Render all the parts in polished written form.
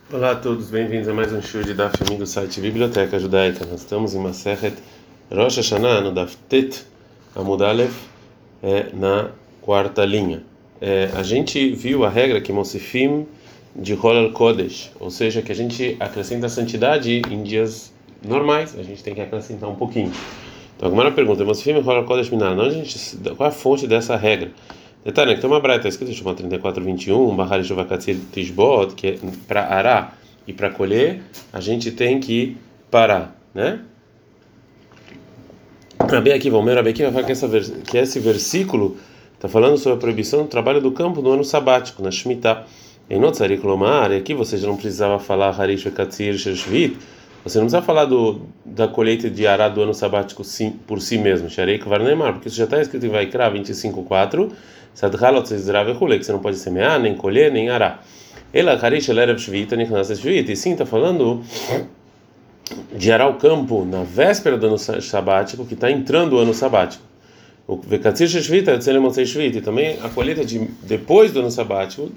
Olá a todos, bem-vindos a mais um show de Daf do site Biblioteca Judaica. Nós estamos em Masechet Rosh Hashanah, no Daf Tet Amud Aleph, na quarta linha. A gente viu a regra que Mosifim de Holal Kodesh, ou seja, que a gente acrescenta santidade em dias normais, a gente tem que acrescentar um pouquinho. Então, a primeira pergunta, Mosifim de Holal Kodesh Minar, qual é a fonte dessa regra? Detalhe, que tem uma braita escrita, chama 34:21, Bahar Shuvakatzir Tishbot, que é para arar e para colher, a gente tem que parar, né? Rabi Akiva, o meu Rabi Akiva fala que esse versículo está falando sobre a proibição do trabalho do campo no ano sabático, na Shemitah. Em Notzarik Lomar, e aqui você já não precisava falar Harish Vekatzir Shvit, você não precisa falar da colheita de arar do ano sabático por si mesmo, Sharei Kvarnemar, porque isso já está escrito em Vaikra 25:4. Que você não pode semear, nem colher, nem arar. Ela Harish Elerev Shvita, Nichnas Shvita, e sim, está falando de arar o campo na véspera do ano sabático, que está entrando o ano sabático. O Vekatzir Shvita, Tzelemotzei Shvita, e também a colheita depois do ano sabático,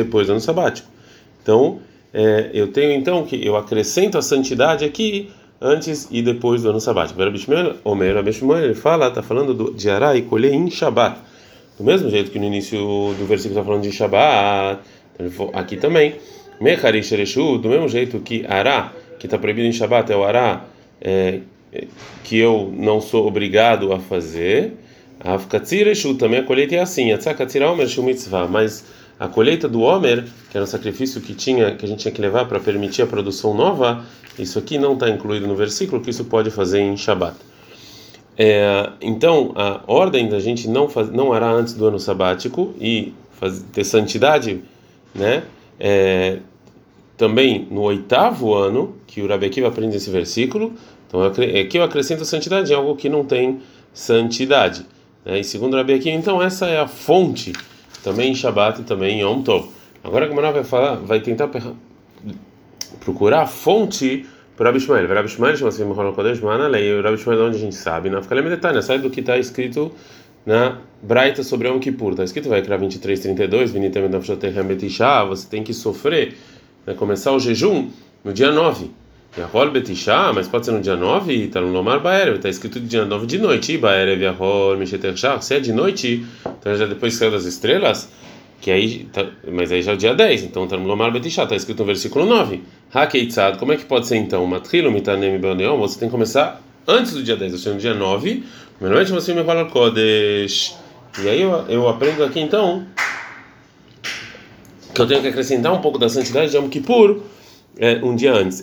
Então, eu tenho então que eu acrescento a santidade aqui antes e depois do ano sabático. Rabbi Shmuel, ele fala, está falando de arar e colher em Shabat. Do mesmo jeito que no início do versículo está falando de Shabat, aqui também. Mecharish Ereshu, do mesmo jeito que Ará, que está proibido em Shabat, é o Ará que eu não sou obrigado a fazer. Avkatzir Ereshu, também a colheita é assim. Atzakatzir Omer Shu Mitzvah, mas a colheita do Omer, que era o sacrifício que a gente tinha que levar para permitir a produção nova, isso aqui não está incluído no versículo, que isso pode fazer em Shabat. Então, a ordem da gente não arar antes do ano sabático e ter santidade, né? Também no 8º ano, que o Rabi Akiva aprende esse versículo, então aqui eu acrescento santidade em algo que não tem santidade, né? E segundo o Rabi Akiva, então essa é a fonte, também em Shabat e também em Yom Tov. Agora a Gemara vai tentar procurar a fonte para Rabbi Shmuel. Rabbi Shmuel chama assim, Mechol Kodesh, Mana Lei. Rabbi Shmuel, onde a gente sabe, na Fikalem Detalhe, sai do que está escrito na Braita sobre Yom Kippur. Está escrito, vai criar 23:32, Vinitem Nafshotechem Betishá, você tem que sofrer, né, começar o jejum no dia 9. Yahol Betishá, mas pode ser no dia 9, e está no Lomar Baerev, está escrito dia 9 de noite, Baerev Yahol Mishetershá, se é de noite, então já depois que saiu das estrelas, que aí mas aí já é o dia 10, então está no Lomar Betishá, está escrito no versículo 9. Hakeitzad, como é que pode ser então? Matrilo mitanem beoneon, você tem que começar antes do dia 10, ou seja, no dia 9, normalmente você me fala Kodesh. E aí eu aprendo aqui então que eu tenho que acrescentar um pouco da santidade de Yom Kippur um dia antes.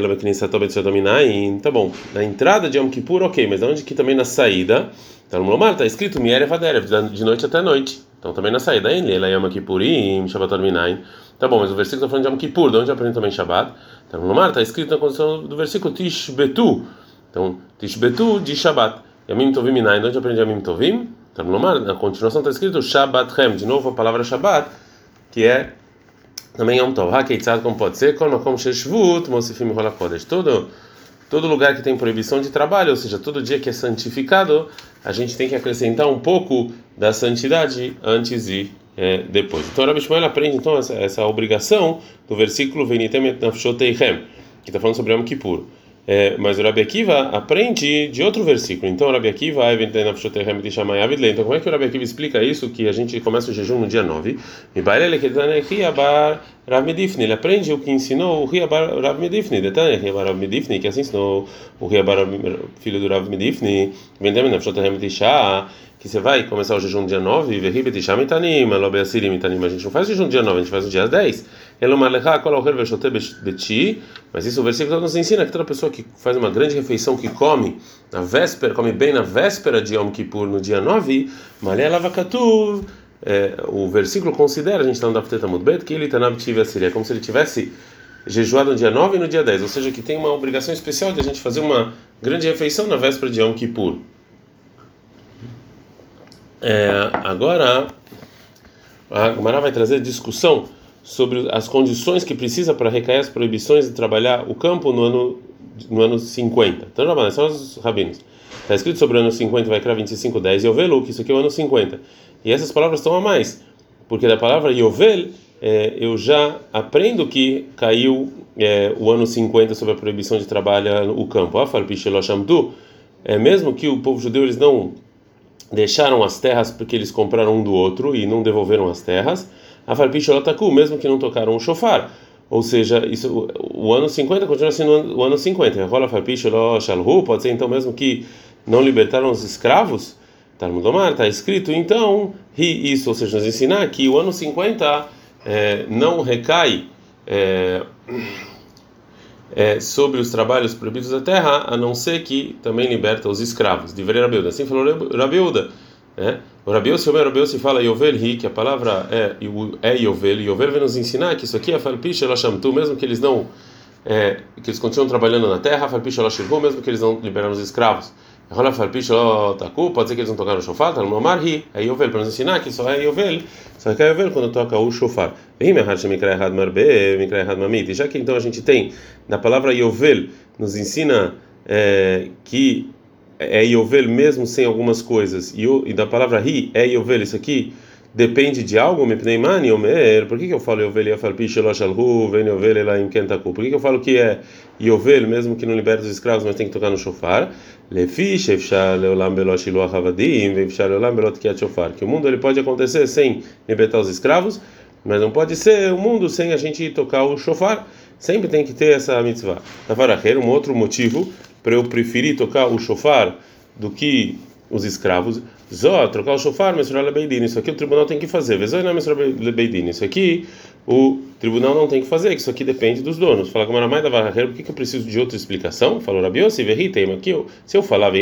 Tá bom, na entrada de Yom Kippur, ok, mas onde que também na saída? Tá no Lomar, está escrito Mierev Aderev, de noite até noite. Então também na saída, ela Yom Kippurim, Shabbat Arminain. Tá bom, mas o versículo está falando de Yom Kippur, de onde eu aprendo também Shabbat? Então no Lomar está escrito na condição do versículo Tishbetu. Então Tishbetu de Shabbat. Yamim Tovim Minain, de onde eu aprendi Yamim Tovim? Então no Lomar, na continuação está escrito Shabbatchem, de novo a palavra Shabbat, que é também Yom Tov. Hakeitzad, como pode ser? Kol Makom Sheshvut, Mosifim Rola Kodesh. Todo lugar que tem proibição de trabalho, ou seja, todo dia que é santificado, a gente tem que acrescentar um pouco da santidade antes e depois. Então, Rabbi Shmuel aprende então essa obrigação do versículo Venitem et nafshoteichem, que está falando sobre Yom Kippur. Mas o Rabbi Akiva aprende de outro versículo. Então, o Rabbi Akiva, então, como é que o Rabbi Akiva explica isso? Que a gente começa o jejum no dia 9. Ele aprende o que ensinou o Riabar Rav Medifni. Que assim ensinou o Riabar, filho do Rav Medifni. Que você vai começar o jejum no dia 9, a gente não faz o jejum no dia 9, a gente faz no dia 10. Mas isso o versículo nos ensina que toda pessoa que faz uma grande refeição, que come bem na véspera de Yom Kippur, no dia 9, o versículo considera, a gente está no Dafteta Mudbet, que ele está na Seria como se ele tivesse jejuado no dia 9 e no dia 10, ou seja, que tem uma obrigação especial de a gente fazer uma grande refeição na véspera de Yom Kippur. Agora a Gemara vai trazer discussão sobre as condições que precisa para recair as proibições de trabalhar o campo no ano 50. Então, são os rabinos. Está escrito sobre o ano 50, vai criar 25:10, Yovel, que isso aqui é o ano 50. E essas palavras estão a mais, porque da palavra Yovel eu já aprendo que caiu o ano 50 sobre a proibição de trabalhar o campo. Mesmo que o povo judeu eles não deixaram as terras porque eles compraram um do outro e não devolveram as terras, mesmo que não tocaram o shofar. Ou seja, isso, o ano 50 continua sendo o ano 50. Pode ser então mesmo que não libertaram os escravos? Talmud Lomar, está escrito então, isso, ou seja, nos ensinar que o ano 50 não recai sobre os trabalhos proibidos da terra, a não ser que também liberta os escravos. De Rabiuda. Assim falou Rabiuda. O Rabiuda se fala Yovel Hi, que a palavra é Yovel. Yovel vem nos ensinar que isso aqui é Falpish Elashamtu, mesmo que eles não que eles continuam trabalhando na terra, Falpish Elashirhu, mesmo que eles não liberaram os escravos. Pode ser que eles não tocaram o shofar, tá no Marhi, é Yovel, para nos ensinar que só é Yovel, só que é Yovel quando toca o shofar. E já que então a gente tem, da palavra Yovel, nos ensina que é Yovel mesmo sem algumas coisas, e da palavra Ri é Yovel, isso aqui depende de algo, por que eu falo Yovel e Afalpi Shelosh Alhu, vem Yovel ela em Kentaku? Por que eu falo que é Yovel mesmo que não liberta os escravos, mas tem que tocar no shofar? Lefi Shefshar Leolam Belot Shiluach Avadim, Vefshar Leolam Belot Kiat Shofar. Que o mundo ele pode acontecer sem libertar os escravos, mas não pode ser o mundo sem a gente tocar o shofar. Sempre tem que ter essa mitzvah. Tavaracher, um outro motivo para eu preferir tocar o shofar do que os escravos. Zó, trocar o shofar, mensurar lebeidin. Isso aqui o tribunal tem que fazer. Vezoi não mensurar lebeidin. Isso aqui o tribunal não tem que fazer, que isso aqui depende dos donos. Fala com a Maramai da Varraqueira, por que eu preciso de outra explicação? Falou Rabiossi, verritem aqui. Se eu falar,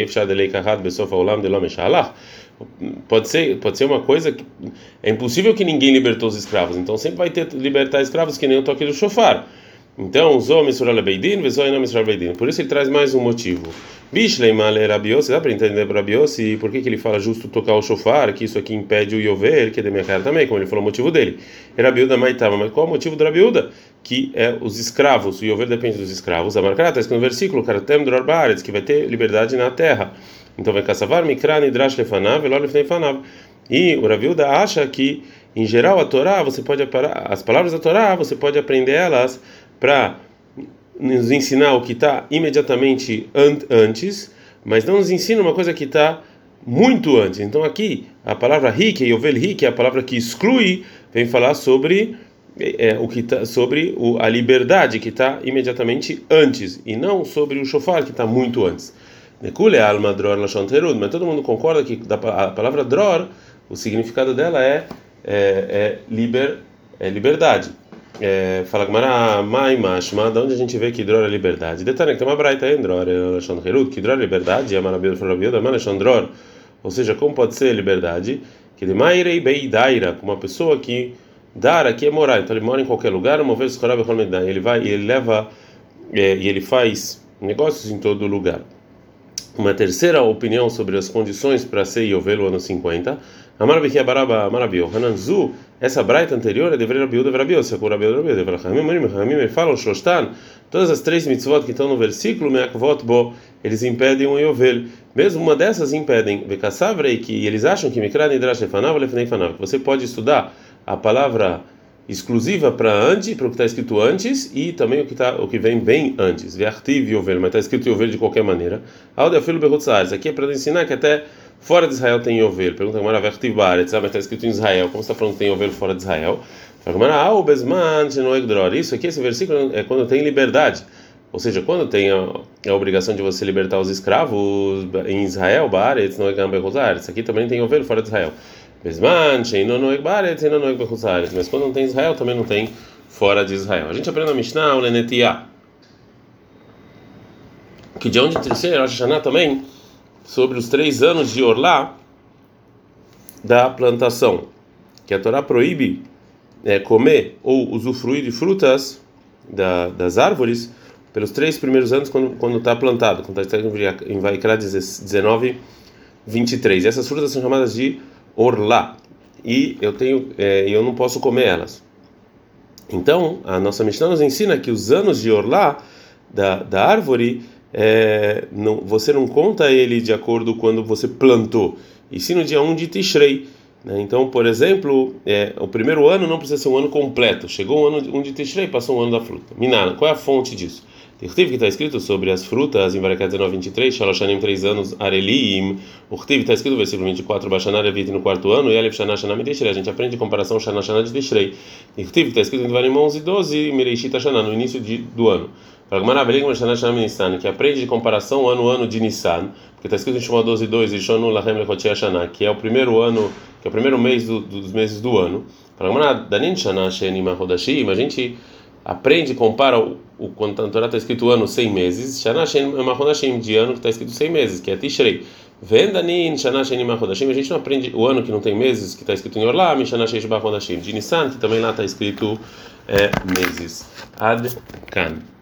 pode ser uma coisa que é impossível que ninguém libertou os escravos. Então sempre vai ter libertar escravos que nem o toque do shofar. Então, Zó mensurar lebeidin, vezoi não mensurar lebeidin. Por isso ele traz mais um motivo. Bishleimale Rabiossi, dá para entender para Rabiossi por que ele fala justo tocar o shofar, que isso aqui impede o Yovel, que é da minha cara também, como ele falou o motivo dele. Rabiuda Maitama, mas qual é o motivo do Rabiuda? Que é os escravos, o Yovel depende dos escravos. A marcará está escrito no versículo, Karatem Dror Baaretz, que vai ter liberdade na terra. Então vai caçavar, Mikra, Nidrash Lefanav, Elor Lefnei Fanav. E o Rabiuda acha que, em geral, a Torá, as palavras da Torá, você pode aprender elas para nos ensinar o que está imediatamente antes, mas não nos ensina uma coisa que está muito antes. Então aqui a palavra rik, yovel rik, é a palavra que exclui, vem falar sobre o que tá, sobre a liberdade que está imediatamente antes e não sobre o shofar que está muito antes. Nekule alma dror lashon terud, mas todo mundo concorda que a palavra dror, o significado dela é liberdade. Fala Gmará, Mai Mashma, da onde a gente vê que Dror é liberdade. Detalhe que tem uma braita em Dror, que Dror é liberdade, é maravilhoso para a vida, Dror. Ou seja, como pode ser liberdade? Que de Mairei Beidaira, uma pessoa que Dara, que é morar, então ele mora em qualquer lugar, uma vez ele vai e ele leva e ele faz negócios em todo lugar. Uma terceira opinião sobre as condições para ser Yovel no ano 50. Hananzu, essa braita anterior é deveria Rabiuda Rabiuda, se for Rabiuda Rabiuda, Ramim falam Shostan, todas as três mitzvot que estão no versículo, eles impedem o Yovel. Mesmo uma dessas impedem, que eles acham que Mikra Nidrash Lefanav Lefnei Fanav, que você pode estudar a palavra exclusiva para antes, para o que está escrito antes e também o que vem bem antes. Ve'artiv Yovel, mas está escrito Yovel de qualquer maneira. Aldeafilo Berutzares, aqui é para ensinar que até fora de Israel tem Yovel. Pergunta como era Ve'artiv Baaretz, mas está escrito em Israel. Como você está falando que tem Yovel fora de Israel? Isso aqui, esse versículo é quando tem liberdade. Ou seja, quando tem a obrigação de você libertar os escravos em Israel, Baaretz, não é Gamberutzares. Aqui também tem Yovel fora de Israel. Mas quando não tem Israel, também não tem fora de Israel. A gente aprende na Mishnah, o Lenetiah, que de onde terceiro, Rosh Hashanah também, sobre os 3 anos de Orlá da plantação, que a Torá proíbe comer ou usufruir de frutas das árvores pelos 3 primeiros anos quando está plantado, quando está em Vaikra 19, 23. E essas frutas são chamadas de Orlá, e eu não posso comer elas. Então a nossa Mishnah nos ensina que os anos de Orlá da árvore você não conta ele de acordo quando você plantou, e sim no dia 1 de Tishrei. né? Então, por exemplo, o primeiro ano não precisa ser um ano completo. Chegou um de Tishrei, passou um ano da fruta. Minana, qual é a fonte disso? Urtiv, que está escrito sobre as frutas, em Barakat 19:23, Shaloshanim, 3 anos, Arelim. Urtiv, está escrito no versículo 24, Bashanar Levit no quarto ano, e Alef Shana Shana Tishrei. A gente aprende comparação Shana Shana de Tishrei. Urtiv, está escrito em Devarim 11:12, Mereishit Shana, no início do ano. Que aprende de comparação ano de Nissan, porque está escrito em Shemot 12:2, Rishonu Lachem Lechotzei Hashanah, que é o primeiro ano, que é o primeiro mês dos meses do ano. Danin Shana Shenim HaChodashim, a gente aprende e compara quando a Torá está escrito ano 100 meses, Shana Shenim HaChodashim, de ano que está escrito 100 meses, que é Tishrei. Vendanin Shana Shenim HaChodashim, a gente não aprende o ano que não tem meses, que está escrito em Orlam, Shana Shenim HaChodashim, de Nissan, que também lá está escrito meses. Ad Kan.